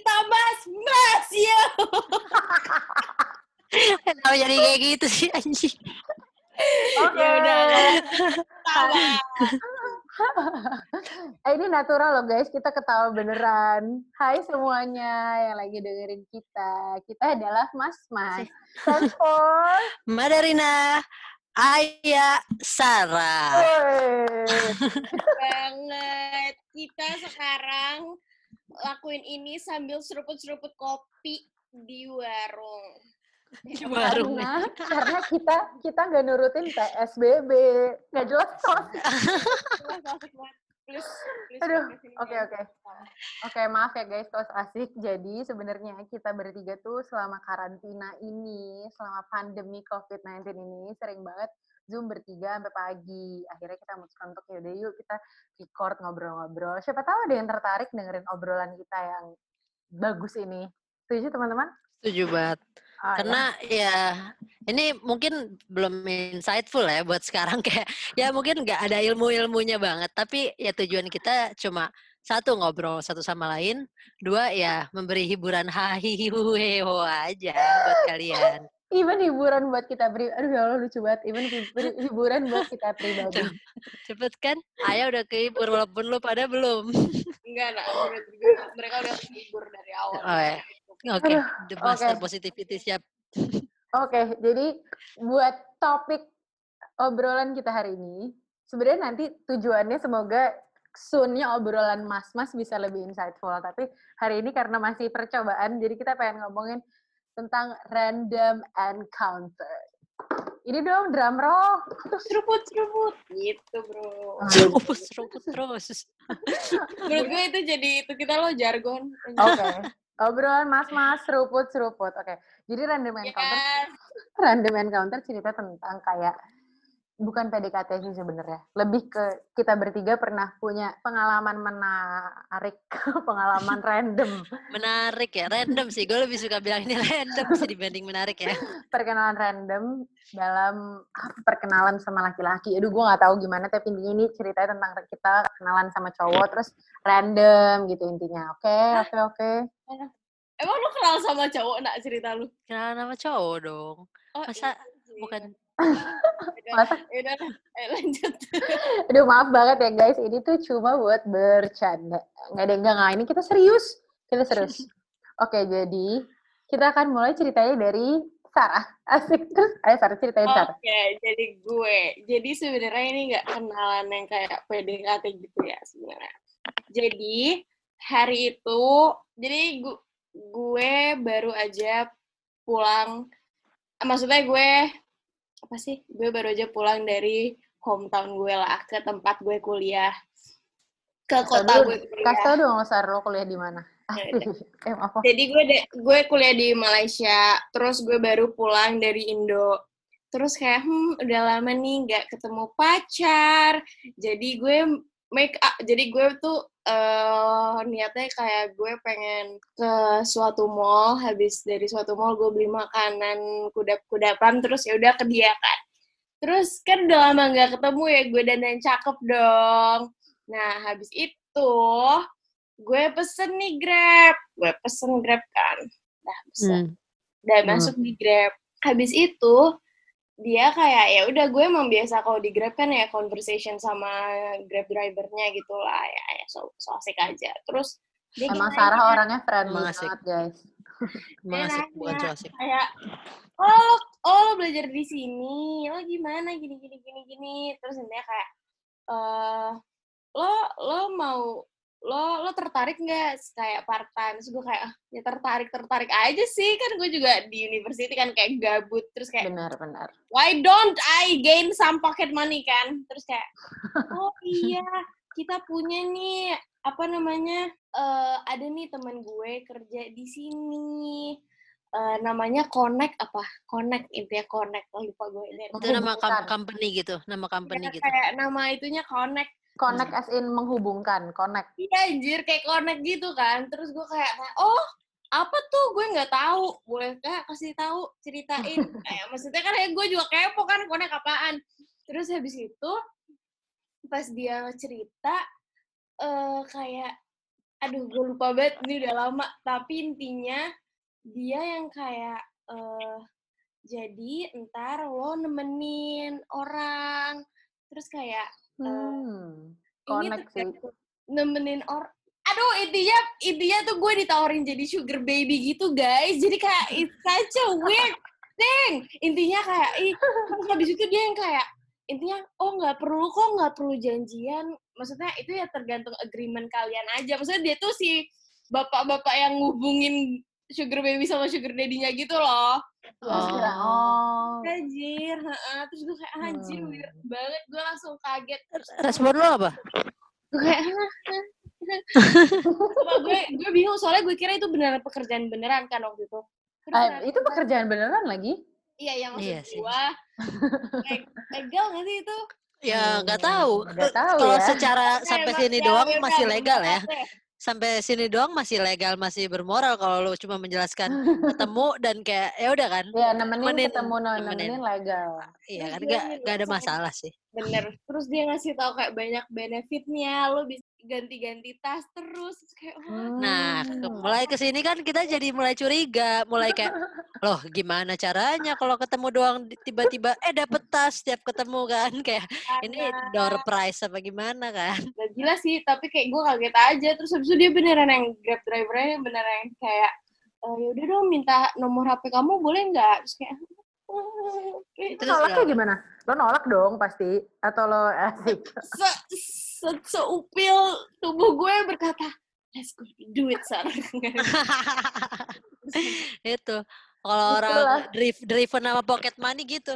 kita mas ya. Kenapa jadi kayak gitu sih anjing? Oke. Ya udah. Ketawa. Ini natural loh guys, kita ketawa beneran. Hai semuanya yang lagi dengerin kita. Kita adalah Mas-Mas. Thanks for Madarina, Aya, Sarah. Banget. Kita sekarang lakuin ini sambil seruput-seruput kopi di warung. Di warung. Karena kita nggak nurutin PSBB, nggak jelas tos. Aduh, oke, maaf ya guys, tos asik. Jadi sebenarnya kita bertiga tuh selama karantina ini, selama pandemi COVID-19 ini sering banget Zoom bertiga sampai pagi. Akhirnya kita memutuskan untuk yaudah yuk kita record ngobrol-ngobrol. Siapa tahu ada yang tertarik dengerin obrolan kita yang bagus ini. Setuju teman-teman? Setuju banget. Karena ya ini mungkin belum insightful ya buat sekarang, kayak ya mungkin nggak ada ilmunya banget, tapi ya tujuan kita cuma satu, ngobrol satu sama lain, dua ya memberi hiburan hahihihuheho aja buat kalian. Even hiburan buat kita pribadi. Aduh ya Allah lucu banget. Even hiburan buat kita pribadi. Cepet kan? Ayah udah kehibur walaupun lu pada belum. Enggak, mereka udah kehibur dari awal. Oh ya. Oke, the master positivity siap. Oke, jadi buat topik obrolan kita hari ini, sebenarnya nanti tujuannya semoga soon-nya obrolan mas-mas bisa lebih insightful. Tapi hari ini karena masih percobaan, jadi kita pengen ngomongin tentang random encounter. Ini dong drum roll. Seruput gitu bro. Seruput terus. Menurut gue itu kita lo jargon. Oke. Obrolan mas-mas seruput. Oke. Jadi random encounter cerita tentang kayak bukan PDKT sih sebenarnya. Lebih ke kita bertiga pernah punya pengalaman menarik, pengalaman random. Menarik ya, random sih. Gue lebih suka bilang ini random sih dibanding menarik ya. Perkenalan random dalam perkenalan sama laki-laki. Aduh, gue nggak tahu gimana, tapi intinya ini ceritanya tentang kita kenalan sama cowok terus random gitu intinya. Oke. Emang lu kenal sama cowok nak cerita lu? Kenalan sama cowok dong. Masa bukan? Masa? Yaudah, lanjut. Aduh, maaf banget ya guys, ini tuh cuma buat bercanda. Enggak, ini kita serius. Oke, jadi kita akan mulai ceritanya dari Sarah. Asik. Terus, ayo Sarah, ceritain Sarah. Oke, jadi gue. Jadi sebenarnya ini nggak kenalan yang kayak PDKT gitu ya sebenarnya. Jadi, hari itu, jadi gue baru aja pulang, maksudnya gue baru aja pulang dari hometown gue lah, ke tempat gue kuliah, ke kota gue kuliah. Kasih tau dong, Sar, lo kuliah di mana? Jadi gue kuliah di Malaysia, terus gue baru pulang dari Indo. Terus kayak, udah lama nih nggak ketemu pacar. Jadi gue tuh niatnya kayak gue pengen ke suatu mall, habis dari suatu mall gue beli makanan kudap-kudapan, terus ya udah ke dia kan. Terus kan udah lama nggak ketemu ya, gue dandan cakep dong. Nah habis itu gue pesen nih Grab kan, udah masuk di Grab. Habis itu dia kayak ya udah, gue emang biasa kalau di Grab kan ya conversation sama Grab drivernya gitu lah ya so asik aja. Terus dia emang Sarah orangnya friendly banget guys. Emang asik, bukan so asik. Kayak lo belajar di sini, lo gimana gini. Terus dia kayak lo tertarik nggak kayak part time? Terus gue kayak ya tertarik aja sih, kan gue juga di university kan kayak gabut, terus kayak benar why don't I gain some pocket money kan? Terus kayak oh iya, kita punya nih ada nih teman gue kerja di sini, namanya Connect intinya Connect, lupa gue ini. Itu nama company gitu, gitu. Kayak nama itunya Connect as in menghubungkan, connect. Iya anjir, kayak connect gitu kan. Terus gue kayak, oh apa tuh, gue nggak tahu, boleh nggak kasih tahu, ceritain. Maksudnya kan gue juga kepo kan, connect apaan. Terus habis itu pas dia cerita kayak aduh gue lupa banget, ini udah lama. Tapi intinya dia yang kayak jadi ntar lo nemenin orang, terus kayak ini tuh nemenin orang. Aduh, intinya tuh gue ditawarin jadi sugar baby gitu, guys. Jadi kayak it's such a weird thing. Intinya kayak habis itu dia yang kayak intinya nggak perlu janjian. Maksudnya itu ya tergantung agreement kalian aja. Maksudnya dia tuh si bapak-bapak yang ngubungin sugar baby sama sugar daddy-nya gitu loh. Anjir, terus gue kayak anjir weird banget, gue langsung kaget. Respon lo apa? Gue kayak gue bingung soalnya gue kira itu beneran pekerjaan beneran kan waktu itu. Itu pekerjaan beneran lagi? Iya, yang maksud gue legal nggak sih itu? Ya nggak tahu. Kalau ya. Secara sampai sini doang masih legal ya. Sampai sini doang masih legal, masih bermoral. Kalau lo cuma menjelaskan ketemu dan kayak ya udah kan. Ya nemenin legal. Iya kan nggak ada masalah sih. Bener. Terus dia ngasih tahu kayak banyak benefitnya. Lo bisa ganti-ganti tas terus kayak Nah, mulai kesini kan kita jadi mulai curiga, mulai kayak loh gimana caranya kalau ketemu doang tiba-tiba dapet tas setiap ketemu kan kayak ini door prize apa gimana kan? Gak gila sih, tapi kayak gue kaget aja. Terus habis itu dia beneran yang Grab drivernya beneran yang kayak yaudah dong minta nomor HP kamu boleh nggak? Terus kayak itu nolaknya gimana? Lo nolak dong pasti atau lo asik? Seupil tubuh gue berkata, let's go do it, Sar. Itu kalau orang driven sama pocket money gitu.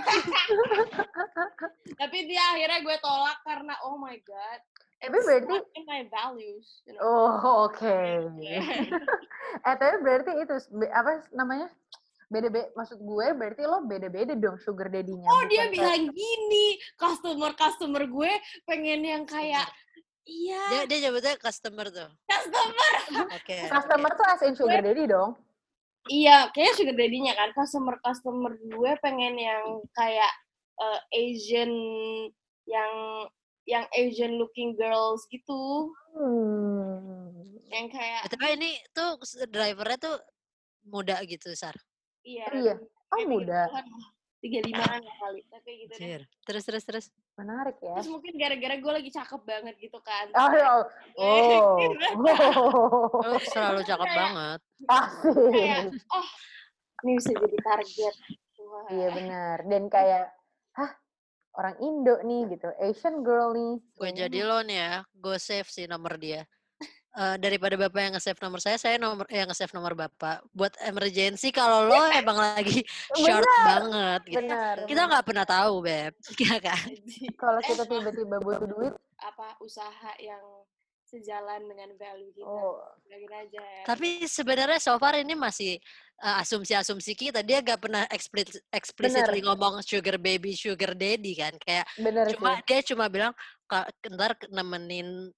Tapi dia akhirnya gue tolak karena oh my god, tapi berarti in my values. You know? Oh oke. Tapi berarti itu apa namanya? Beda-beda, maksud gue berarti lo beda-beda dong sugar daddy-nya. Oh dia bilang gini, customer gue pengen yang kayak iya. Dia nyebutnya customer tuh. Customer. Oke. Customer tuh as in sugar daddy dong. Iya, kayaknya sugar daddy-nya kan. Customer gue pengen yang kayak Asian yang Asian looking girls gitu. Yang kayak. Tapi ini tuh drivernya tuh muda gitu, Sar. Iya. Oh muda. 35-an kali, tapi gitu deh. Terus. Menarik ya. Terus mungkin gara-gara gue lagi cakep banget gitu kan. Oh, selalu cakep banget. Kayak, ini bisa jadi target. Wah. Iya benar. Dan kayak, orang Indo nih gitu, Asian girl nih. Gue jadi lo nih ya, gue save sih nomor dia. Daripada bapak yang nge-save nomor saya nge-save nomor bapak. Buat emergency kalau lo emang lagi short banget gitu. Bener. Kita nggak pernah tahu, Beb. Iya kan? Kalau kita tiba-tiba butuh duit. Apa usaha yang sejalan dengan value kita. Lagi aja ya. Tapi sebenarnya so far ini masih asumsi-asumsi kita. Dia gak pernah explicitly ngomong sugar baby, sugar daddy kan. Kayak dia cuma bilang ntar nemenin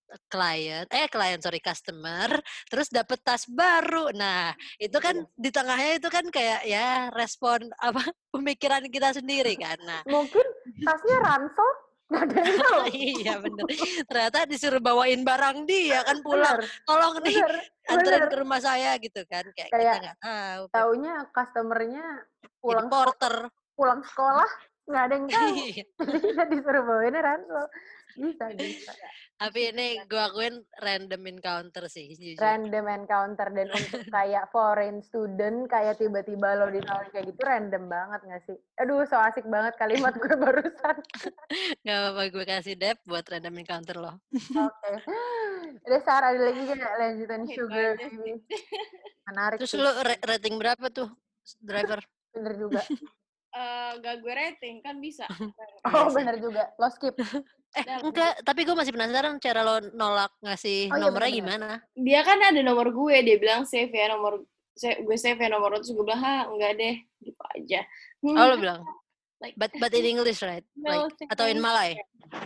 customer terus dapet tas baru. Nah, itu kan di tengahnya itu kan kayak ya respon pemikiran kita sendiri kan. Nah, mungkin tasnya ransel. Nggak ada yang tahu. Iya bener. Ternyata disuruh bawain barang dia kan pulang. Tolong nih anterin ke rumah saya gitu kan. Kayak kita nggak tahu. Taunya customernya pulang porter. Pulang sekolah nggak ada yang tahu. Jadi kita disuruh bawain ransel. Bisa. Tapi ini gue akuin random encounter sih. Jujur. Random encounter. Dan untuk kayak foreign student, kayak tiba-tiba lo ditawarin kayak gitu, random banget gak sih? Aduh, so asik banget kalimat gue barusan. Gak apa-apa, gue kasih Dep buat random encounter lo. Oke. Udah, Sarah, ada lagi gak lanjutan sugar? Menarik. Terus lo rating berapa tuh, driver? Bener juga. Gak gue rating, kan bisa. Bener juga. Lo skip. Enggak, tapi gue masih penasaran cara lo nolak ngasih nomornya gimana. Dia kan ada nomor gue, dia bilang save ya nomor, gue save ya nomor, terus gue bilang, enggak deh, gitu aja. Lo bilang? But in English, right? No, atau in Malay?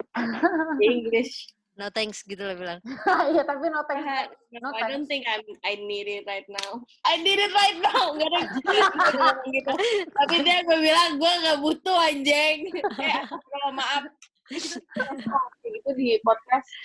English. No thanks, gitu lo bilang. Iya, tapi no thanks. I don't think I need it right now. I need it right now. Enggak ada gitu. Tapi dia gue bilang, gue gak butuh anjing. Kayak, kalau maaf. Itu di podcast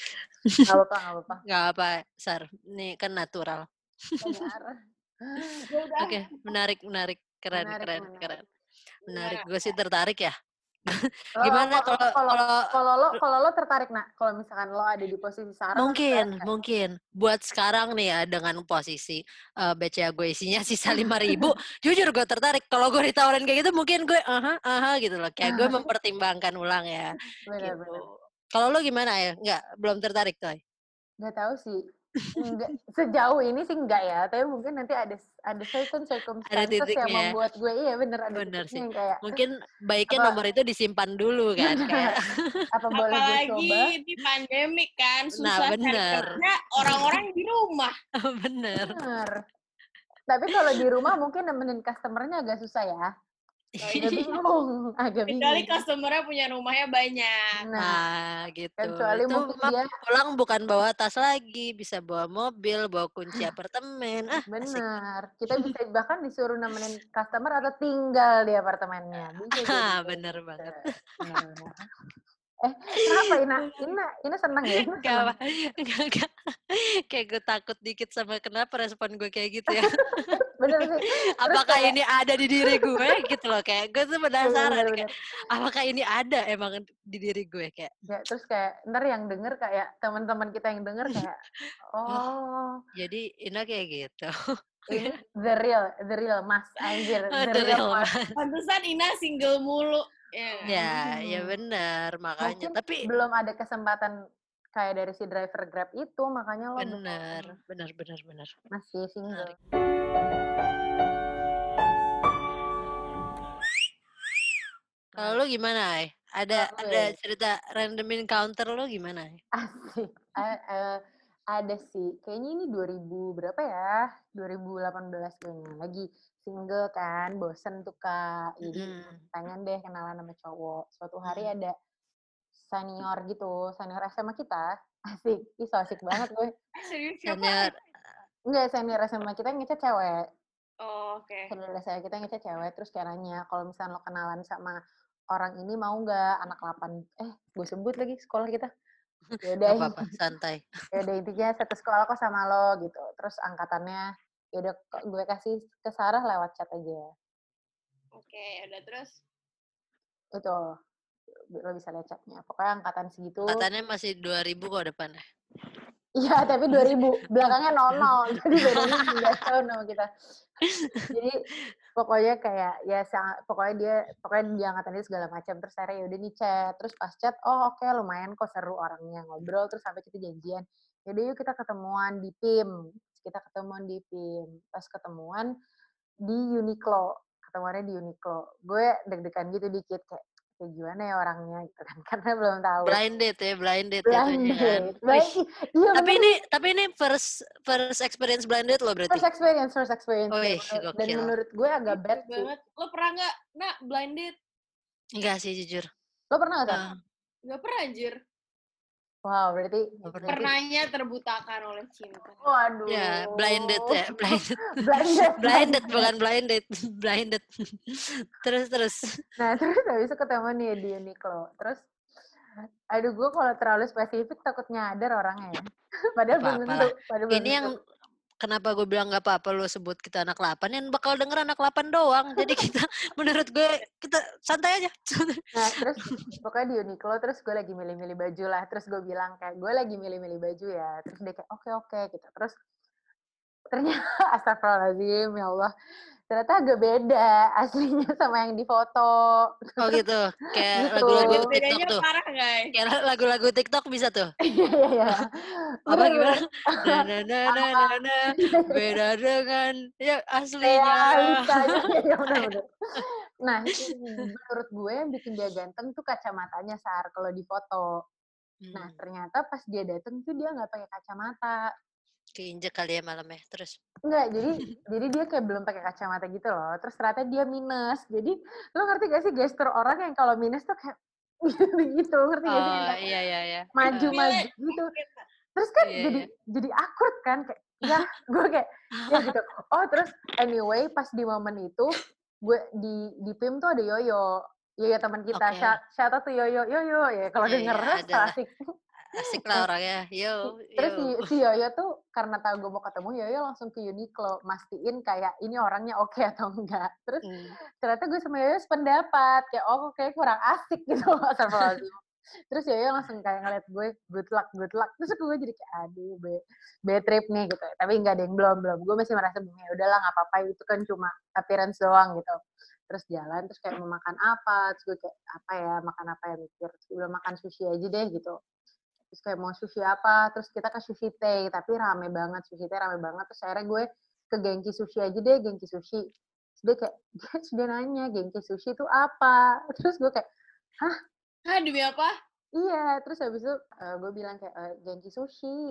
Nggak apa-apa. Nggak apa, Sar. Ini kan natural. Benar. Oke, menarik. Keren. Menarik. Gue sih tertarik ya. Gimana kalau lo tertarik, Nak? Kalau misalkan lo ada di posisi Sarah, mungkin buat sekarang nih ya, dengan posisi BCA gue isinya sisa 5.000, jujur gue tertarik. Kalau gue ditawarin kayak gitu mungkin gue gitu loh, kayak gue mempertimbangkan ulang ya. Benar. Kalau lo gimana ya? Belum tertarik tuh? Nggak tahu sih. Enggak, sejauh ini sih enggak ya, tapi mungkin nanti ada certain circumstances yang membuat gue ada titiknya yang kayak mungkin baiknya nomor itu disimpan dulu kan kayak apa boleh gue coba di pandemik kan susah karena orang-orang di rumah. Bener. Tapi kalau di rumah mungkin nemenin customernya agak susah ya. Agak bingung. Kecuali customernya punya rumahnya banyak. Nah, gitu. Kecuali itu mungkin dia pulang bukan bawa tas lagi, bisa bawa mobil, bawa kunci apartemen. Benar. Kita bisa bahkan disuruh nemenin customer atau tinggal di apartemennya. Bisa bener banget. Benar. Kenapa Ina senang ya? Enggak. Kayak gue takut dikit sama kenapa respon gue kayak gitu ya. Bener sih. Apakah ini ada di diri gue gitu loh, kayak gue tuh penasaran kayak apakah ini ada emang di diri gue kayak. Ya, terus kayak ntar yang denger kayak teman-teman kita yang denger kayak jadi Ina kayak gitu. Ini the real mas anjir. The real mas. Pantesan Ina single mulu. Ya benar makanya. Mungkin tapi belum ada kesempatan kayak dari si driver Grab itu, makanya lo benar. Masih single. Kalau lo gimana, Ay? Ada cerita random encounter lo gimana? Asik. Ada sih. Kayaknya ini 2000 berapa ya? 2018 kayaknya. Lagi single kan, bosen tuh Kak. Jadi pengen deh kenalan sama cowok. Suatu hari ada senior senior SMA kita. Asik. Ih, so asik banget gue. Senior. Enggak, senior SMA kita ngechat cewek. Oh, oke. Senior SMA kita ngechat cewek, terus kayak nanya, kalau misalnya lo kenalan sama orang ini mau nggak anak 8? Gue sebut lagi sekolah kita. Yaudah, apa-apa, santai. Yaudah intinya satu sekolah kok sama lo gitu. Terus angkatannya, yaudah gue kasih ke Sarah lewat chat aja. Oke, udah terus? Itu, lo bisa lihat chatnya. Pokoknya angkatan segitu. Angkatannya masih 2000 kok depannya. Iya, tapi 2000. Belakangnya 00. Jadi bedanya 9 tahun sama kita. Jadi pokoknya kayak pokoknya dia angkatan dia segala macam. Terus akhirnya yaudah nih chat. Terus pas chat, oke, lumayan kok seru orangnya, ngobrol. Terus sampai kita janjian, yaudah yuk kita ketemuan di PIM. Pas ketemuan di Uniqlo. Ketemuannya di Uniqlo. Gue deg-degan gitu dikit kayak gimana ya orangnya gitu kan, karena belum tahu. Blind date ya. Tapi ini first experience blind date lo berarti? First experience. Dan menurut gue agak bad sih. Lo pernah nggak blind date? Enggak sih jujur. Lo pernah nggak? Nggak pernah anjir. Wow, berarti pernahnya terbutakan oleh cinta. Waduh. Ya, blinded ya, blinded bukan blinded, blinded. Terus. Nah, terus habis itu ketemu nih di Uniqlo. Terus aduh, gue kalau terlalu spesifik takut nyadar orangnya ya. Padahal belum tentu. Ini yang kenapa gue bilang gak apa-apa lo sebut kita anak 8, yang bakal denger anak 8 doang. Jadi kita, menurut gue, kita santai aja. Nah, terus pokoknya di Uniqlo, terus gue lagi milih-milih baju lah. Terus gue bilang kayak, gue lagi milih-milih baju ya. Terus dia kayak, oke, gitu. Terus ternyata, astagfirullahaladzim, ya Allah. Ternyata agak beda aslinya sama yang di foto. Oh gitu, kayak lagu-lagu TikTok tuh. Parah, guys. Kayak lagu-lagu TikTok bisa tuh. Iya. Apa gimana? Beda dengan ya aslinya. Bener. Nah, menurut gue yang bikin dia ganteng tuh kacamatanya, Sar, kalau di foto. Nah, ternyata pas dia dateng tuh dia nggak pakai kacamata. Keinjek kali ya malamnya, terus? Enggak, jadi dia kayak belum pakai kacamata gitu loh. Terus ternyata dia minus. Jadi lo ngerti gak sih gestur orang yang kalau minus tuh kayak gitu, ngerti gak sih? Iya. Maju gitu. Terus kan jadi awkward kan, kayak ya gue kayak ya gitu. Oh, terus anyway pas di momen itu gue di PIM tuh ada Yoyo teman kita. Shout out tuh Yoyo ya kalau denger asik. Asik lah orangnya. Yo. Terus si Yoyo tuh karena tahu gue mau ketemu, Yoyo langsung ke Uniqlo mastiin kayak ini orangnya oke atau enggak. Terus ternyata gue sama Yoyo sependapat kayak kayak kurang asik gitu. Terus Yoyo langsung kayak ngeliat gue good luck. Terus gue jadi kayak aduh bad trip nih gitu. Tapi nggak ada yang belum. Gue masih merasa ya udahlah nggak apa-apa, itu kan cuma appearance doang gitu. Terus jalan, terus kayak mau makan apa, terus gue kayak apa ya, makan apa ya mikir, terus gue makan sushi aja deh gitu. Terus kayak mau sushi apa, terus kita ke Sushi Tei, tapi rame banget, Sushi Tei rame banget, terus akhirnya gue ke Genki Sushi aja deh, Genki Sushi. Terus dia kayak, dia nanya, Genki Sushi itu apa? Terus gue kayak, hah? Demi apa? Iya, terus habis itu gue bilang kayak, Genki Sushi,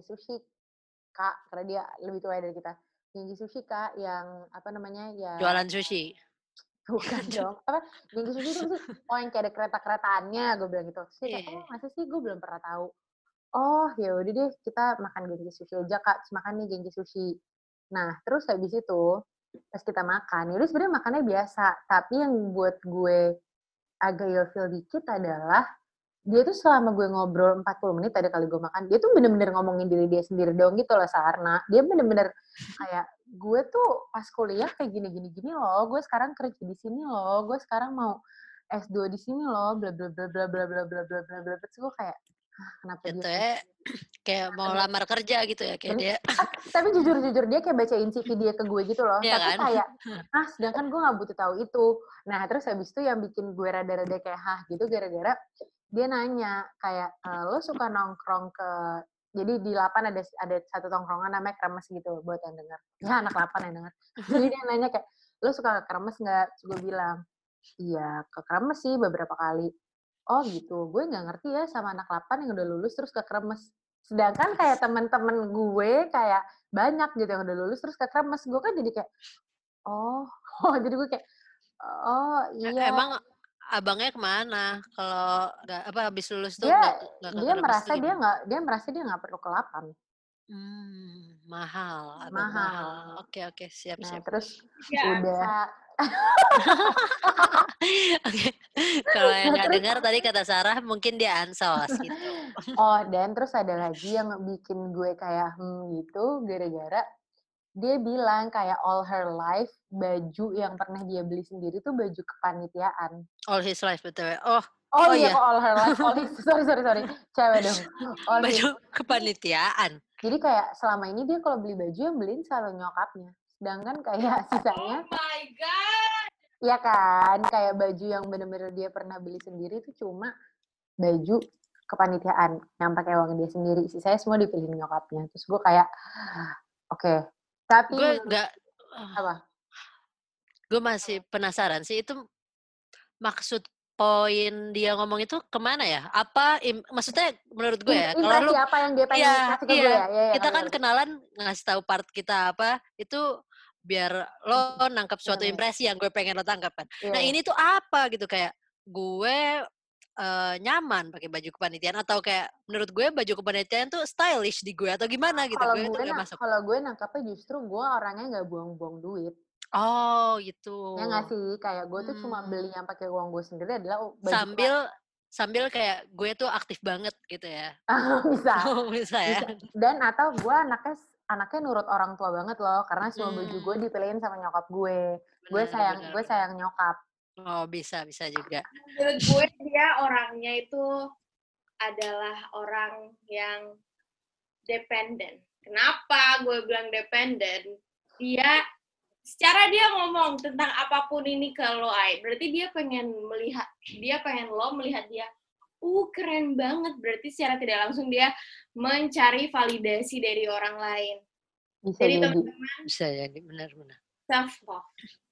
Kak, karena dia lebih tua dari kita. Genki Sushi, Kak, yang, apa namanya, ya... Jualan sushi. Bukan dong. Apa? Genki Sushi itu sih, yang kayak ada kereta-keretaannya, gue bilang gitu. Terus dia kayak, masa sih gue belum pernah tahu. Oh, ya udah deh, kita makan Genki Sushi aja, Kak. Terus makan nih Genki Sushi. Nah, terus habis itu, pas kita makan, yaudah sebenarnya makannya biasa. Tapi yang buat gue agak ilfil dikit adalah, dia tuh selama gue ngobrol 40 menit, ada kali gue makan, dia tuh bener-bener ngomongin diri dia sendiri dong gitu loh, Sarna. Dia bener-bener kayak, gue tuh pas kuliah kayak gini-gini loh, gue sekarang kerja di sini loh, gue sekarang mau S2 di sini loh, bla bla bla bla bla bla bla bla bla bla. Terus gue kayak, kenapa gitu dia ya, kayak mau lamar kerja gitu ya kayak dia. Tapi jujur dia kayak bacain CV dia ke gue gitu loh. Iya Tapi kan? kayak, sedangkan gue gak butuh tahu itu. Nah, terus habis itu yang bikin gue rada-rada kayak gitu gara-gara dia nanya kayak, lo suka nongkrong ke, jadi di 8 ada satu tongkrongan namanya Kremes gitu buat yang denger. Ya anak 8 yang denger. Jadi dia nanya kayak, lo suka ke Kremes nggak? Terus gue bilang, iya ke Kremes sih beberapa kali. Oh gitu, gue nggak ngerti ya sama anak 8 yang udah lulus terus ke Kremes. Sedangkan kayak temen-temen gue kayak banyak gitu yang udah lulus terus ke Kremes. Gue kan jadi kayak, jadi gue kayak, oh iya. Emang abangnya kemana? Kalau nggak habis lulus tuh Dia nggak ke Kremes tuh gimana? dia merasa dia nggak perlu ke 8. Mahal, abang mahal. Oke, siap. Nah, terus ya, udah. Oke. Kalau yang nggak dengar tadi kata Sarah, mungkin dia ansos gitu. Oh, dan terus ada lagi yang bikin gue kayak gitu, gara-gara dia bilang kayak all her life baju yang pernah dia beli sendiri tuh baju kepanitiaan. All his life betul. Oh iya, kok all her life. Sorry. Cewek dong. Baju kepanitiaan. Jadi kayak selama ini dia kalau beli baju yang beliin selalu nyokapnya. Sedangkan kayak sisanya. Oh my God. Iya kan, kayak baju yang bener-bener dia pernah beli sendiri itu cuma baju kepanitiaan yang pakai uang dia sendiri. Sisanya semua dipilihin nyokapnya. Terus gue kayak, oke. Tapi gue nggak. Apa? Gue masih penasaran sih itu maksud poin dia ngomong itu kemana ya? Apa maksudnya menurut gue ya? Kalau lu apa yang dia pengen kasih ke gue ya? Kita kan kenalan ngasih tahu part kita apa itu biar lo nangkap suatu impresi yang gue pengen lo tangkap kan. Nah ini tuh apa gitu kayak gue nyaman pakai baju kepanitiaan atau kayak menurut gue baju kepanitiaan tuh stylish di gue atau gimana gitu. Kalau gue nangkapnya justru gue orangnya nggak buang-buang duit. Oh gitu. Ya nggak sih, kayak gue tuh cuma beli yang pakai uang gue sendiri adalah baju sambil kayak gue tuh aktif banget gitu ya. Bisa ya. Dan atau gue anaknya nurut orang tua banget loh, karena semua baju gue dipilihin sama nyokap gue. Gue sayang nyokap. Oh bisa juga. Menurut gue dia orangnya itu adalah orang yang dependen. Kenapa gue bilang dependen? Secara dia ngomong tentang apapun ini ke lo, berarti dia pengen lo melihat dia, keren banget. Berarti secara tidak langsung dia mencari validasi dari orang lain. Jadi teman-teman, bisa jadi benar-benar. Self love.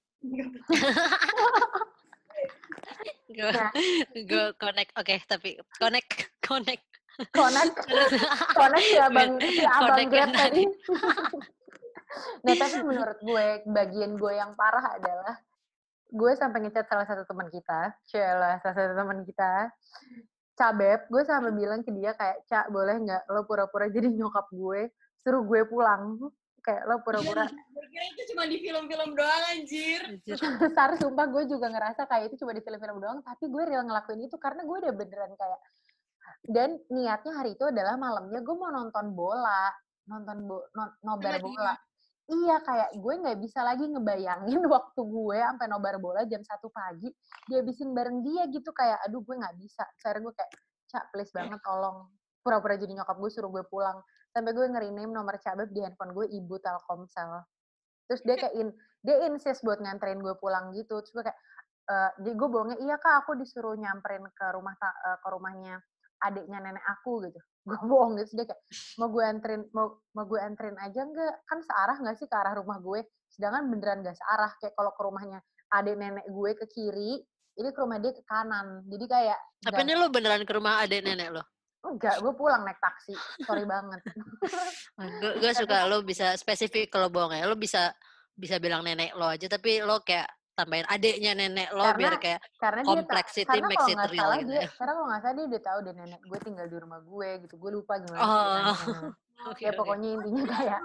Gue connect, tapi connect ya abang Grab tadi. Nah, tapi menurut gue, bagian gue yang parah adalah gue sampai ngechat salah satu teman kita, Cabeb, gue sampai bilang ke dia kayak, Cak, boleh nggak lo pura-pura jadi nyokap gue, suruh gue pulang. Kayak lo pura-pura. Gue kira itu cuma di film-film doang, anjir. Sumpah gue juga ngerasa kayak itu cuma di film-film doang, tapi gue real ngelakuin itu karena gue udah beneran kayak, Dan niatnya hari itu adalah malamnya gue mau nonton bola, nobar bola. Iya, kayak gue nggak bisa lagi ngebayangin waktu gue sampai nobar bola jam 1 pagi, dihabisin bareng dia gitu, kayak aduh gue nggak bisa. Akhirnya gue kayak, Cak please banget tolong. Pura-pura jadi nyokap gue suruh gue pulang. Sampai gue nge-rename nomor Cabeb di handphone gue Ibu Telkomsel. Terus dia insist buat nganterin gue pulang gitu. Terus gue kayak, gue bohongnya, iya kak aku disuruh nyamperin ke rumahnya adiknya nenek aku gitu. Gue bohong gitu. Dia kayak, mau gue anterin aja nggak? Kan searah nggak sih ke arah rumah gue? Sedangkan beneran nggak searah. Kayak kalau ke rumahnya adik nenek gue ke kiri, ini ke rumah dia ke kanan. Jadi kayak... Tapi ini lo beneran ke rumah adik nenek lo? Enggak, gue pulang naik taksi. Sorry banget. Gue suka lo bisa spesifik kalau bohong ya. Lo bisa bilang nenek lo aja, tapi lo kayak tambahin adiknya nenek lo biar kayak complexity makes it real gitu ya. Karena kalau nggak salah dia udah tahu deh nenek gue tinggal di rumah gue gitu. Gue lupa gimana ceritanya. Ya pokoknya intinya kayak...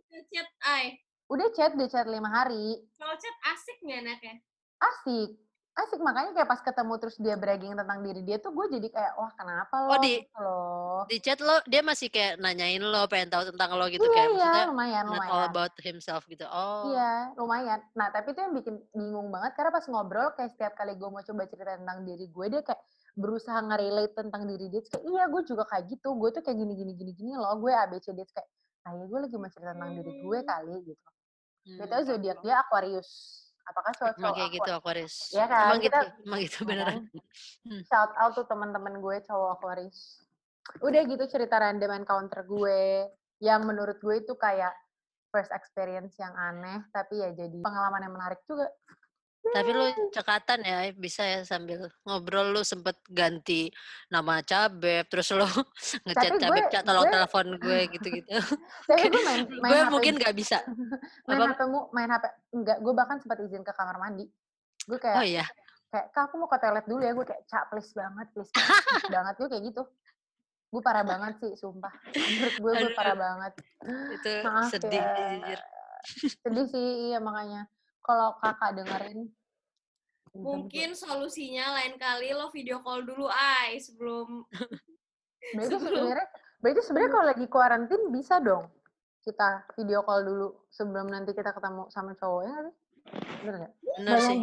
Udah chat 5 hari. Kalau chat asik nggak anaknya? Asik, makanya kayak pas ketemu terus dia bragging tentang diri dia tuh gue jadi kayak, wah kenapa lo? Di chat lo, dia masih kayak nanyain lo, pengen tahu tentang lo gitu, iya, kayak maksudnya lumayan. not all about himself gitu. Iya, lumayan. Nah, tapi itu yang bikin bingung banget, karena pas ngobrol, kayak setiap kali gue mau coba cerita tentang diri gue, dia kayak berusaha nge-relate tentang diri dia, kayak, iya gue juga kayak gitu, gue tuh kayak gini loh, gue ABC, dia kayak, ya gue lagi mau cerita tentang diri gue kali, gitu. Betul, zodiak dia Aquarius. Apakah cowok emang kayak gitu Aquarius? Ya kan? Emang gitu beneran. Shout out tuh teman-teman gue cowok Aquarius. Udah gitu cerita random encounter gue yang menurut gue itu kayak first experience yang aneh, tapi ya jadi pengalaman yang menarik juga. Tapi lu cekatan ya, bisa ya sambil ngobrol lu sempet ganti nama Cabeb, terus lu ngechat Cabeb, tolong telepon gue gitu-gitu. Tapi gue main gue HP, mungkin gak bisa. main HP, enggak, gue bahkan sempat izin ke kamar mandi. Gue kayak, oh iya? Kayak, Kak aku mau ke toilet dulu ya, gue kayak, Cak please banget, please banget, gue kayak gitu. Gue parah banget sih, sumpah. Menurut gue parah banget. Itu maaf sedih ya. jujur. Sedih sih, iya makanya. Kalau kakak dengerin. Mungkin solusinya lain kali lo video call dulu, sebelum... Berarti sebenarnya kalau lagi kuarantin bisa dong kita video call dulu sebelum nanti kita ketemu sama cowoknya kan? Bener nggak? Bener sih.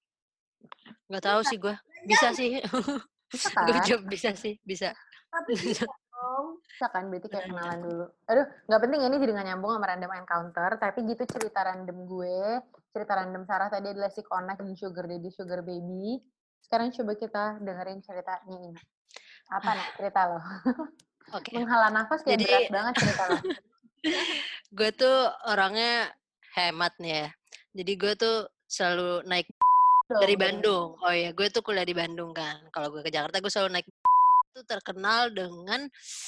Nggak tahu sih gue. Bisa sih. Bisa kan? Gue jawab bisa sih, bisa. Tapi bisa kan, berarti kayak kenalan dulu. Aduh, nggak penting ini jadi nggak nyambung sama random encounter, tapi gitu cerita random gue, cerita random Sarah tadi adalah si Connect dan Sugar Daddy, Sugar Baby. Sekarang coba kita dengerin ceritanya ini. Apa nih cerita lo? Okay. Menghela nafas kayak jadi, berat banget cerita lo. Gue tuh orangnya hemat nih ya. Jadi gue tuh selalu naik dari Bandung. Oh iya, gue tuh kuliah di Bandung kan. Kalau gue ke Jakarta, gue selalu naik itu terkenal dengan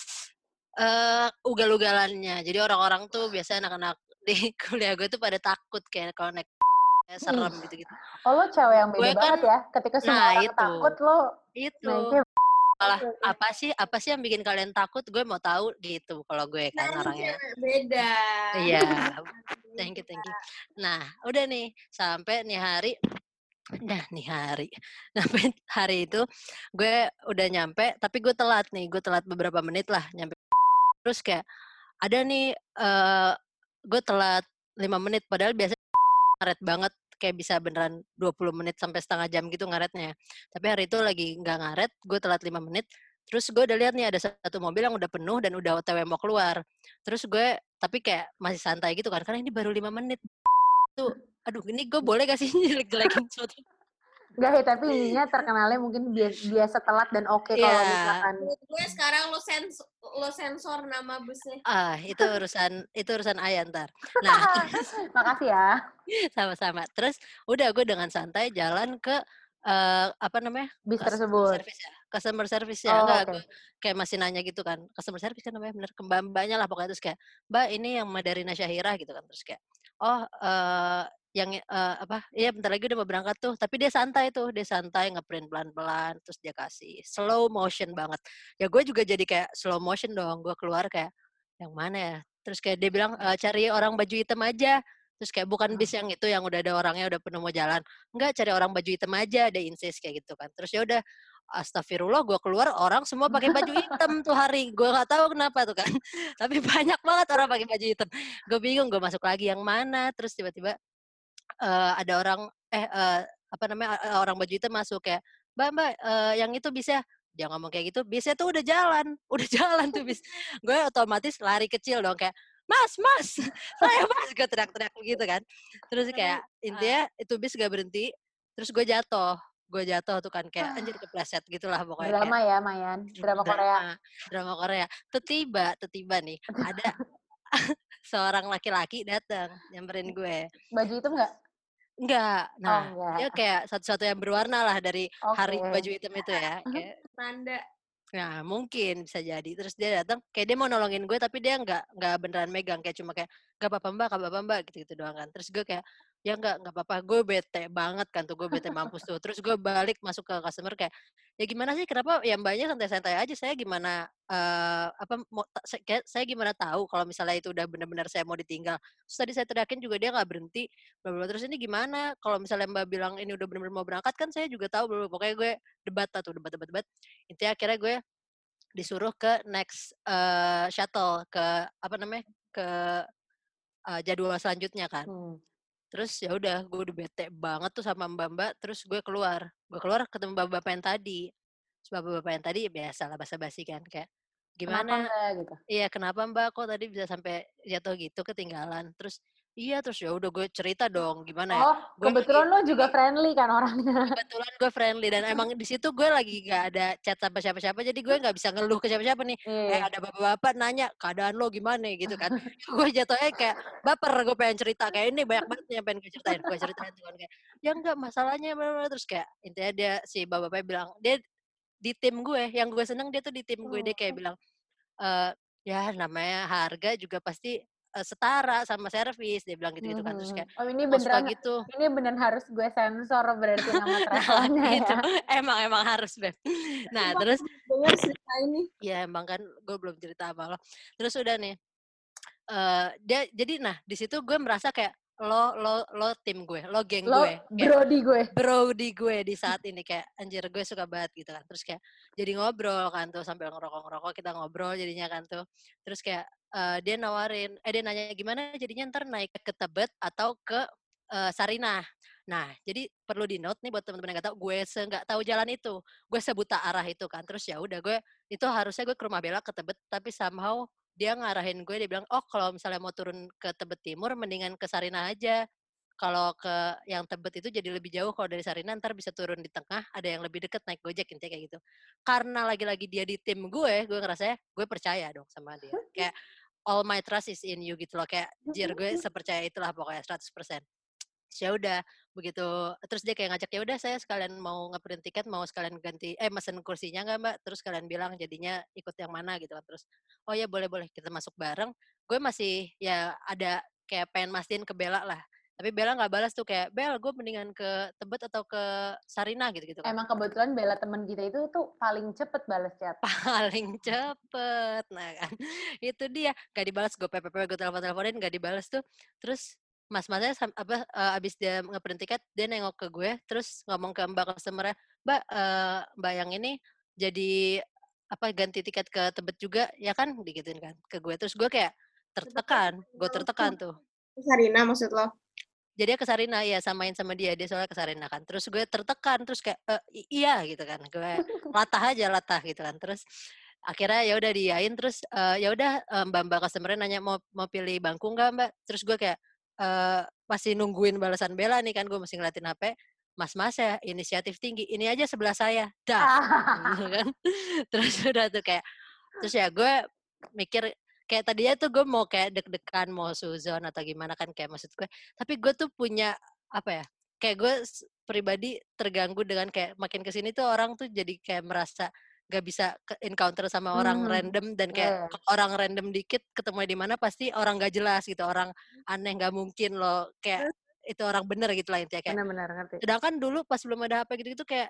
ugal-ugalannya. Jadi orang-orang tuh biasanya anak-anak di kuliah gue tuh pada takut kayak kalau naik serem gitu-gitu. Oh lo cewek yang beda banget ya. Ketika semua orang takut lo naiknya malah apa sih yang bikin kalian takut? Gue mau tahu gitu kalau gue kan orangnya. Beda. Iya. Thank you. Nah, udah nih sampai nih hari. Sampai hari itu gue udah nyampe, tapi gue telat beberapa menit lah nyampe. Terus kayak ada nih gue telat 5 menit padahal biasanya ngaret banget, kayak bisa beneran 20 menit sampai setengah jam gitu ngaretnya. Tapi hari itu lagi nggak ngaret, gue telat 5 menit. Terus gue udah lihat nih ada satu mobil yang udah penuh dan udah OTW mau keluar. Terus gue tapi kayak masih santai gitu kan, karena ini baru 5 menit. Tuh, aduh ini gue boleh gak sih jelek-jelekin sesuatu? Enggak ya, tapi ininya terkenalnya mungkin biasa telat dan oke kalau misalkan. Gue sekarang lo sensor nama busnya. Itu urusan Ayah ntar. Nah, makasih ya. Sama-sama. Terus udah gue dengan santai jalan ke bis tersebut. Customer service ya. Gue kayak masih nanya gitu kan. Customer service kan namanya bener. Mbaknya lah pokoknya, terus kayak, Mbak ini yang Madarina Syahira gitu kan. Terus kayak, iya bentar lagi udah mau berangkat tuh. Tapi dia santai ngeprint pelan-pelan, terus dia kasih slow motion banget. Ya gue juga jadi kayak slow motion dong. Gue keluar kayak, yang mana ya? Terus kayak dia bilang, cari orang baju hitam aja. Terus kayak bukan bis yang itu yang udah ada orangnya udah penuh mau jalan. Enggak, cari orang baju hitam aja, dia insist kayak gitu kan. Terus ya udah, astagfirullah, gue keluar orang semua pakai baju hitam tuh hari. Gue nggak tahu kenapa tuh kan. Tapi banyak banget orang pakai baju hitam. Gue bingung, gue masuk lagi yang mana. Terus tiba-tiba ada orang apa namanya orang baju hitam masuk kayak, Mbak, yang itu bisa. Dia ngomong kayak gitu, bisnya tuh udah jalan tuh bis. Gue otomatis lari kecil dong kayak, Mas, saya Mas, gue teriak-teriak begitu kan. Terus kayak intinya itu bis gak berhenti. Terus gue jatuh tuh kan kayak anjir kepleset gitulah pokoknya. Drama kayak, ya, Mayan. Drama Korea. Drama Korea. Tiba nih ada seorang laki-laki datang nyamperin gue. Baju hitam nggak? Enggak. Nah, enggak. dia kayak satu-satu yang berwarna lah dari hari baju hitam itu ya. Kayak tanda. Nah, mungkin bisa jadi. Terus dia datang, kayak dia mau nolongin gue, tapi dia nggak beneran megang, kayak cuma kayak gak apa-apa mbak, gitu-gitu doang kan. Terus gue kayak ya nggak apa-apa, gue bete banget kan tuh, gue bete mampus tuh. Terus gue balik masuk ke customer kayak, ya gimana sih, kenapa ya mbaknya santai-santai aja, saya gimana saya gimana tahu kalau misalnya itu udah benar-benar saya mau ditinggal. Terus tadi saya teriakin juga dia nggak berhenti. Bla terus ini gimana? Kalau misalnya mbak bilang ini udah benar-benar mau berangkat kan saya juga tahu belum. Pokoknya gue debat. Intinya akhirnya gue disuruh ke next shuttle ke apa namanya ke jadwal selanjutnya kan. Terus ya udah gue udah bete banget tuh sama mbak-mbak. Terus gue keluar ketemu bapak-bapak yang tadi. Terus bapak-bapak yang tadi ya biasa lah basa-basi kan kayak gimana? Kenapa gitu? Iya kenapa mbak kok tadi bisa sampai jatuh gitu ketinggalan? Terus iya terus ya udah gue cerita dong gimana ya? Kebetulan lo juga friendly kan orangnya. Kebetulan gue friendly dan emang di situ gue lagi gak ada chat sama siapa-siapa jadi gue nggak bisa ngeluh ke siapa-siapa nih. Ada bapak-bapak nanya keadaan lo gimana gitu kan. Gue jatuhnya kayak baper, gue pengen cerita kayak ini banyak banget yang pengen gue ceritain tuh kan kayak ya enggak masalahnya terus kayak intinya dia si bapak-bapaknya bilang dia di tim gue yang gue seneng dia tuh di tim gue dia kayak bilang ya namanya harga juga pasti setara sama servis dia bilang gitu kan terus kayak ini beneran gitu. Ini beneran harus gue sensor berarti nama travelannya gitu. ya. Emang harus Beb. Nah terus dengar cerita ini ya emang kan gue belum cerita apa lo terus udah nih dia jadi nah di situ gue merasa kayak lo tim gue lo geng gue brody gue di saat ini kayak anjir gue suka banget gitu kan terus kayak jadi ngobrol kan tuh sambil ngerokok kita ngobrol jadinya kan tuh terus kayak dia nawarin dia nanya gimana jadinya ntar naik ke Tebet atau ke Sarinah. Nah, jadi perlu di note nih buat teman-teman yang nggak tahu, gue nggak tahu jalan itu, gue sebuta arah itu kan, terus ya udah gue itu harusnya gue ke Rumah Bella ke Tebet, tapi somehow dia ngarahin gue, dia bilang, oh kalau misalnya mau turun ke Tebet Timur, mendingan ke Sarinah aja. Kalau ke yang Tebet itu jadi lebih jauh, kalau dari Sarinah ntar bisa turun di tengah, ada yang lebih deket naik Gojek, intinya kayak gitu. Karena lagi-lagi dia di tim gue ngerasa gue percaya dong sama dia. Kayak all my trust is in you gitu loh, kayak jir gue sepercaya itulah pokoknya 100%. Ya udah begitu terus dia kayak ngajak ya udah saya sekalian mau ngeprint tiket mau sekalian ganti mesen kursinya nggak mbak terus kalian bilang jadinya ikut yang mana gitu kan terus oh ya boleh kita masuk bareng gue masih ya ada kayak pengen mastiin ke Bella lah tapi Bella nggak balas tuh kayak Bel gue mendingan ke Tebet atau ke Sarinah gitu kan emang kebetulan Bella teman kita itu tuh paling cepet balas chat paling cepet nah kan itu dia nggak dibalas gue gue teleponin nggak dibalas tuh terus mas-masnya abis dia ngeprint tiket dia nengok ke gue terus ngomong ke mbak customer-nya mbak yang ini jadi ganti tiket ke Tebet juga ya kan digituin kan ke gue terus gue kayak tertekan tuh Sarina maksud lo jadi ke Sarina ya samain sama dia soalnya ke Sarina kan terus gue tertekan terus kayak iya gitu kan gue latah gitu kan terus akhirnya ya udah diain terus ya udah mbak customer-nya nanya mau pilih bangku nggak mbak terus gue kayak masih nungguin balasan Bella nih kan gue masih ngeliatin HP mas ya inisiatif tinggi ini aja sebelah saya gitu kan terus udah tuh kayak terus ya gue mikir kayak tadinya tuh gue mau kayak deg-degan mau suzon atau gimana kan kayak maksud gue tapi gue tuh punya apa ya kayak gue pribadi terganggu dengan kayak makin kesini tuh orang tuh jadi kayak merasa gak bisa encounter sama orang random dan kayak orang random dikit ketemu di mana pasti orang gak jelas gitu orang aneh gak mungkin loh kayak itu orang bener gitu lah intinya kayak benar-benar ngerti sedangkan dulu pas belum ada HP gitu-gitu kayak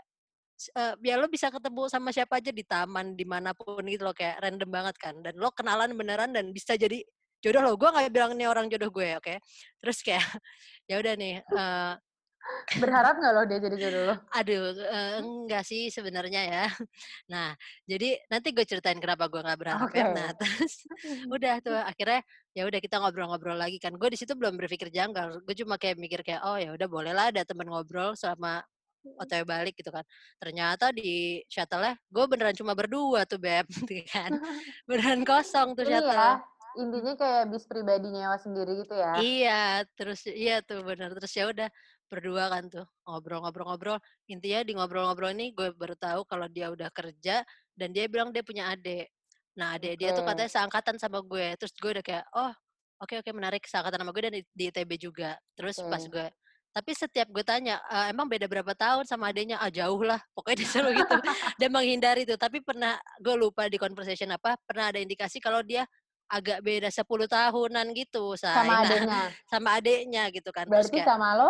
ya lo bisa ketemu sama siapa aja di taman dimanapun gitu loh kayak random banget kan dan lo kenalan beneran dan bisa jadi jodoh lo gue nggak bilang ini orang jodoh gue oke terus kayak ya udah nih Berharap nggak lo dia jadi jodoh lo? Aduh, enggak sih sebenarnya ya. Nah, jadi nanti gue ceritain kenapa gue nggak berharap ya. Nah, terus udah tuh akhirnya ya udah kita ngobrol-ngobrol lagi kan. Gue di situ belum berpikir janggal. Gue cuma kayak mikir kayak oh ya udah bolehlah ada teman ngobrol selama OTW balik gitu kan. Ternyata di shuttle-nya gue beneran cuma berdua tuh Beb, gitu kan. Beneran kosong tuh Ini ya, shuttle. intinya kayak bis pribadi nyewa sendiri gitu ya. Iya tuh bener. Terus ya udah berdua kan tuh ngobrol-ngobrol-ngobrol. Intinya di ngobrol-ngobrol ini gue baru tahu kalau dia udah kerja dan dia bilang dia punya adik. Nah, adik dia tuh katanya seangkatan sama gue. Terus gue udah kayak, oh oke menarik seangkatan sama gue dan di ITB juga. Terus pas gue tapi setiap gue tanya, emang beda berapa tahun sama adiknya? Ah jauh lah, pokoknya dia selalu gitu. Dia menghindari tuh. Tapi pernah, gue lupa di conversation apa, pernah ada indikasi kalau dia agak beda 10 tahunan gitu, Say. Sama Nah, adiknya? sama adiknya gitu kan. Terus Berarti kayak, sama lo?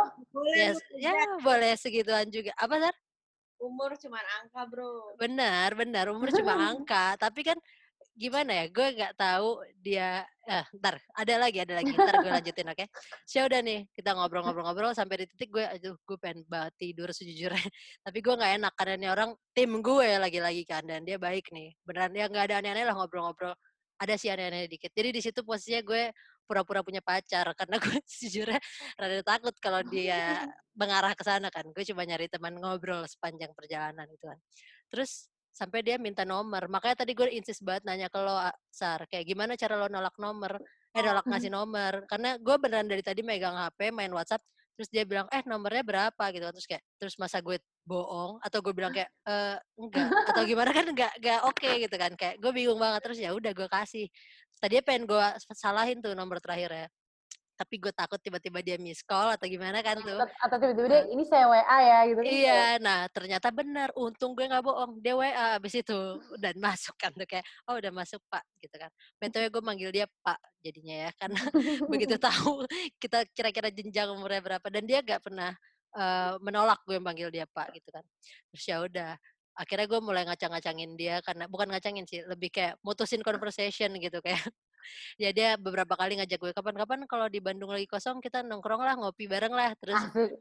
ya boleh segituan juga. Apa, Sar? Umur cuma angka, bro. Benar, umur cuma angka. Tapi kan gimana ya, gue nggak tahu dia ntar ada lagi ntar gue lanjutin, oke? So udah nih kita ngobrol sampai di titik gue aduh gue pengen banget tidur sejujurnya tapi gue nggak enak karena ini orang tim gue lagi-lagi kan dan dia baik nih beneran ya nggak ada aneh-aneh lah ngobrol-ngobrol ada sih aneh-aneh dikit jadi di situ posisinya gue pura-pura punya pacar karena gue sejujurnya rada takut kalau dia mengarah ke sana kan gue cuma nyari teman ngobrol sepanjang perjalanan itu kan terus sampai dia minta nomor. Makanya tadi gue insist banget nanya ke lo, Sar, kayak gimana cara lo nolak nomor? Nolak ngasih nomor. Karena gue beneran dari tadi megang HP, main WhatsApp, terus dia bilang, nomornya berapa gitu. Terus masa gue bohong atau gue bilang kayak enggak atau gimana kan enggak oke gitu kan kayak gue bingung banget terus ya udah gue kasih. Tadinya pengen gue salahin tuh nomor terakhirnya. Tapi gue takut tiba-tiba dia miss call atau gimana kan tuh. Atau tiba-tiba dia, ini saya WA ya gitu kan. Iya, nah ternyata benar. Untung gue nggak bohong. Dia WA abis itu dan masuk kan tuh kayak, oh udah masuk Pak gitu kan. BTW gue manggil dia Pak jadinya ya karena begitu tahu kita kira-kira jenjang umurnya berapa dan dia nggak pernah menolak gue manggil dia Pak gitu kan. Terus ya udah. Akhirnya gue mulai ngacang-ngacangin dia karena bukan ngacangin sih, lebih kayak mutusin conversation gitu kayak. Ya dia beberapa kali ngajak gue kapan-kapan kalau di Bandung lagi kosong kita nongkrong lah ngopi bareng lah terus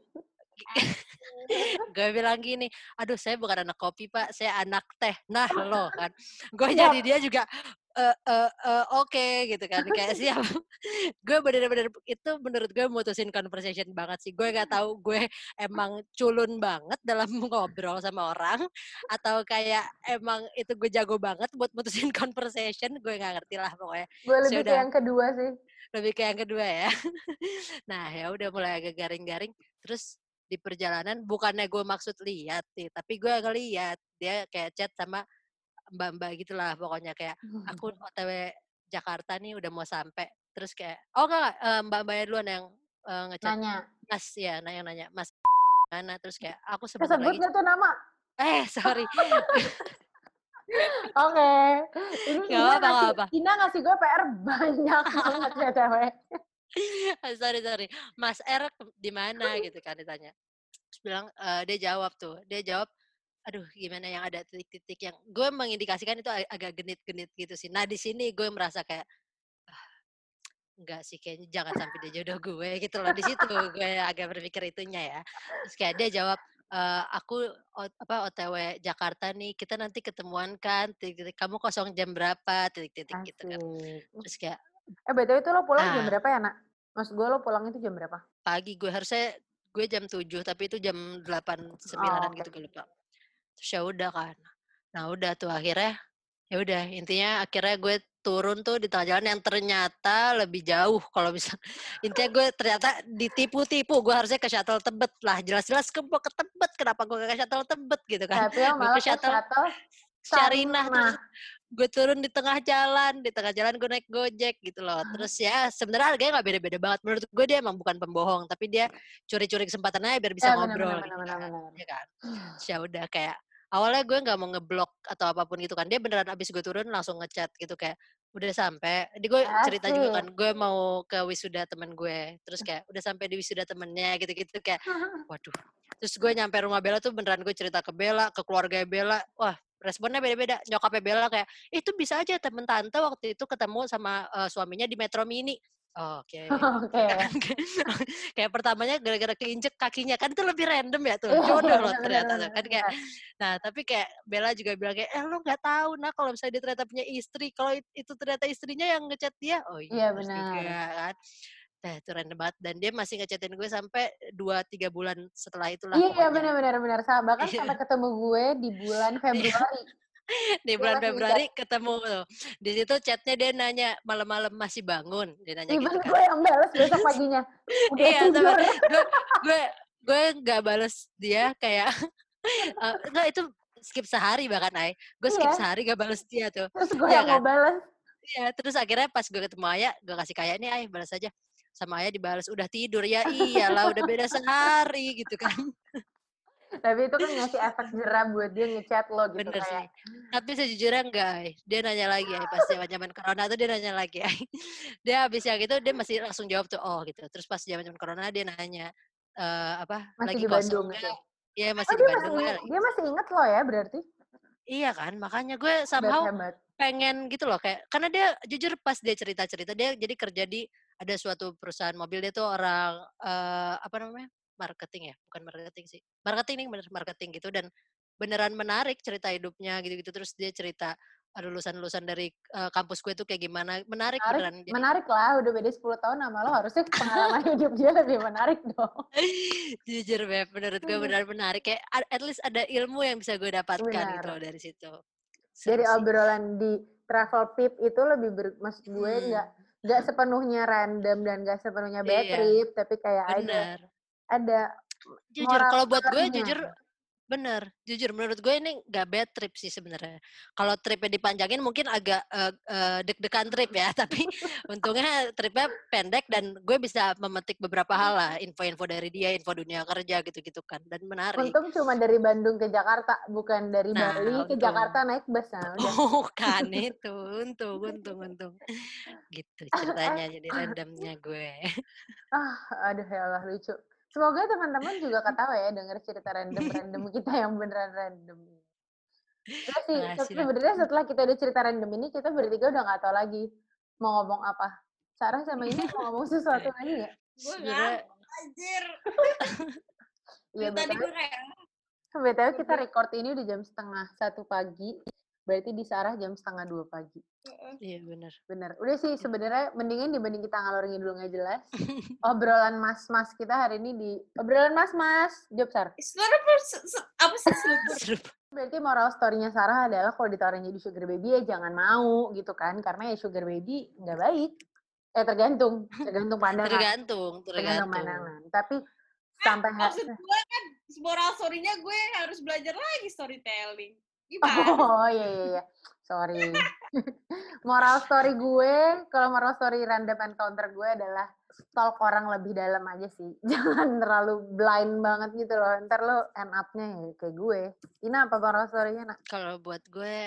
gue bilang gini, aduh saya bukan anak kopi Pak, saya anak teh. Nah lo kan, gue jadi dia juga oke gitu kan, kayak siap. Gue bener-bener itu menurut gue mutusin conversation banget sih. Gue nggak tahu gue emang culun banget dalam ngobrol sama orang atau kayak emang itu gue jago banget buat mutusin conversation. Gue nggak ngerti lah pokoknya. Gue lebih ke yang kedua sih. Lebih ke yang kedua ya. Nah ya udah mulai agak garing-garing. Terus di perjalanan bukannya gue maksud lihat sih, tapi gue ngeliat dia kayak chat sama mbak-mbak gitulah pokoknya kayak aku OTW Jakarta nih udah mau sampai terus kayak oh enggak mbak-mbaknya duluan yang ngechat Nanya. Mas ya nanya Mas mana terus kayak aku sebentar Kesebut lagi nggak tuh nama? sorry Oke. Ini apa. Ina ngasih gue PR banyak banget ya cewek. sorry Mas R di mana gitu kan ditanya terus bilang dia jawab aduh gimana yang ada titik-titik yang gue mengindikasikan itu agak genit-genit gitu sih nah di sini gue merasa kayak enggak sih kayaknya jangan sampai dia jodoh gue gitu loh di situ gue agak berpikir itunya ya terus kayak dia jawab aku OTW Jakarta nih kita nanti ketemuan kan titik-titik kamu kosong jam berapa titik-titik gitu kan terus kayak BTW itu lo pulang jam berapa ya nak? Maksud gue lo pulang itu jam berapa? Pagi gue jam 7 tapi itu jam 8 9-an gitu gue lupa terus ya udah kan nah udah tuh akhirnya ya udah intinya akhirnya gue turun tuh di tengah jalan yang ternyata lebih jauh kalau bisa intinya gue ternyata ditipu-tipu gue harusnya ke shuttle Tebet lah jelas-jelas ke Tebet kenapa gue ke shuttle Tebet gitu kan tapi lo malah ke shuttle Sarinah terus gue turun di tengah jalan gue naik Gojek gitu loh terus ya sebenarnya harganya nggak beda-beda banget menurut gue dia emang bukan pembohong tapi dia curi-curi kesempatannya biar bisa ngobrol gitu kan ya kan ya udah kayak awalnya gue nggak mau ngeblok atau apapun gitu kan dia beneran abis gue turun langsung ngechat gitu kayak udah sampai di gue cerita juga kan gue mau ke wisuda temen gue terus kayak udah sampai di wisuda temennya gitu-gitu kayak waduh terus gue nyampe rumah Bella tuh beneran gue cerita ke Bella ke keluarga Bella wah responnya beda-beda nyokapnya Bella kayak itu bisa aja temen tante waktu itu ketemu sama suaminya di Metro Mini Oke. Oke. Kayak pertamanya gara-gara keinjek kakinya kan itu lebih random ya tuh. Jodoh loh ternyata tuh kan kayak. Nah tapi kayak Bella juga bilang kayak lo nggak tahu nah kalau misalnya dia ternyata punya istri, kalau itu ternyata istrinya yang ngechat dia, oh iya benar juga kan. Nah itu random banget dan dia masih ngechatin gue sampai 2-3 bulan setelah itulah Iya pokoknya. benar. Bahkan sampai ketemu gue di bulan Februari. Di bulan Februari ketemu tuh. Di situ chatnya dia nanya malam-malam masih bangun, dia nanya gitu kan. Gue yang balas besok paginya. Udah Iya, tidur. gue nggak balas dia kayak enggak itu skip sehari bahkan gue skip sehari gak balas dia tuh. Terus gue ya yang kan? mau balas. Iya, terus akhirnya pas gue ketemu Ayah, gue kasih kayak nih balas aja. Sama Ayah dibalas udah tidur ya iyalah udah beda sehari gitu kan. Tapi itu kan ngasih efek jerah buat dia ngechat lo gitu. Bener kayak. sih. Tapi sejujurnya enggak, dia nanya lagi pas zaman corona tuh dia nanya lagi. Dia habis yang itu dia masih langsung jawab tuh oh gitu. Terus pas zaman corona dia nanya Masih lagi di kosong Bandung enggak? gitu. Iya masih di Bandung Dia masih inget lo ya berarti? Iya kan, makanya gue somehow Hebat. pengen gitu loh kayak karena dia jujur pas dia cerita-cerita dia jadi kerja di ada suatu perusahaan mobil, dia tuh orang apa namanya? Marketing ya, bukan marketing sih. Marketing bener marketing gitu dan beneran menarik cerita hidupnya gitu-gitu terus dia cerita lulusan-lulusan dari kampus gue tuh kayak gimana, menarik beneran. Jadi Menarik lah, udah beda 10 tahun sama lo harusnya pengalaman hidup dia lebih menarik dong. jujur Beb, menurut gue beneran menarik kayak at least ada ilmu yang bisa gue dapatkan gitu loh dari situ. Seru dari sih. obrolan di travel tip itu lebih maksud gue nggak sepenuhnya random dan nggak sepenuhnya bad trip, tapi kayak ada jujur kalau buat gue jujur menurut gue ini nggak bad trip sih sebenarnya. Kalau tripnya dipanjangin mungkin agak deg-degan trip ya, tapi untungnya tripnya pendek dan gue bisa memetik beberapa hal lah, info-info dari dia, info dunia kerja gitu-gitu kan, dan menarik. Untung cuma dari Bandung ke Jakarta, bukan dari Bali ke Jakarta naik bus. Kan itu, untung. Gitu ceritanya jadi randomnya gue. Aduh ya Allah lucu. Semoga teman-teman juga ketawa ya denger cerita random kita yang beneran random. Udah sih, sebenarnya setelah kita udah cerita random ini, kita bertiga udah gak tahu lagi mau ngomong apa. Sarah sama ini mau ngomong sesuatu lagi gak? Gue gak, anjir. Iya, tadi gue kayak... BTW kita record ini udah jam 1:30 pagi. Berarti di Sarah jam 1:30 pagi. Iya benar. Udah sih sebenarnya mendingan dibanding kita ngalor ngidul nggak jelas. Obrolan mas-mas kita hari ini di obrolan mas-mas. Jawab Sar. Apa sih selupur? Berarti moral story-nya Sarah adalah kalau ditawarin jadi sugar baby ya jangan mau gitu kan, karena ya sugar baby nggak baik. Tergantung pandangan. Tergantung pandangan. Tapi sampai maksud gue kan moral story-nya gue harus belajar lagi storytelling. Gimana? Oh iya. Sorry. Moral story gue, kalau moral story random encounter gue adalah stalk orang lebih dalam aja sih. Jangan terlalu blind banget gitu loh. Ntar lo end up-nya ya kayak gue. Ina apa moral story-nya, Nak? Kalau buat gue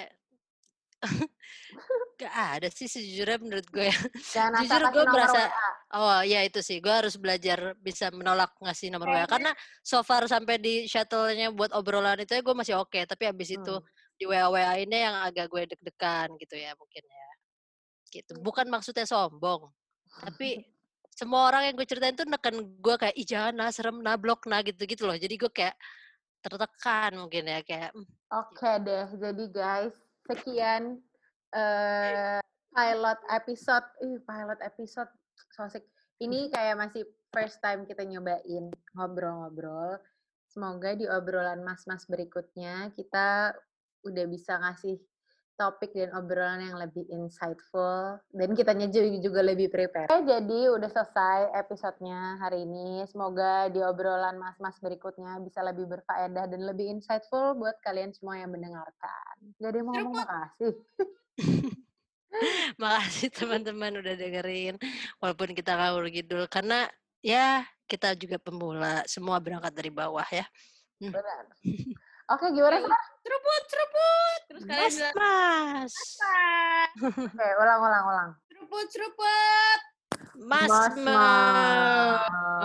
gak ada sih sejujurnya menurut gue. Jujur gue merasa ya itu sih gue harus belajar bisa menolak ngasih nomor WA karena so far sampai di shuttle-nya buat obrolan itu ya gue masih oke, tapi abis itu di WA ini yang agak gue deg-degan gitu ya mungkin ya gitu. Bukan maksudnya sombong tapi semua orang yang gue ceritain tuh neken gue kayak ih jangan serem blok gitu loh, jadi gue kayak tertekan mungkin ya kayak Oke deh, jadi guys sekian pilot episode so asik. Ini kayak masih first time kita nyobain ngobrol-ngobrol. Semoga di obrolan mas-mas berikutnya kita udah bisa ngasih topik dan obrolan yang lebih insightful dan kitanya juga lebih prepare. Jadi udah selesai episodenya hari ini. Semoga di obrolan mas-mas berikutnya bisa lebih berfaedah dan lebih insightful buat kalian semua yang mendengarkan. Gak ada yang mau ngomong makasih. Makasih teman-teman udah dengerin walaupun kita ngawur ngidul karena ya kita juga pemula, semua berangkat dari bawah ya. Benar. Oke, gimana Sar? Seruput. Terus kalian bilang mas. Oke, ulang. Seruput. Mas.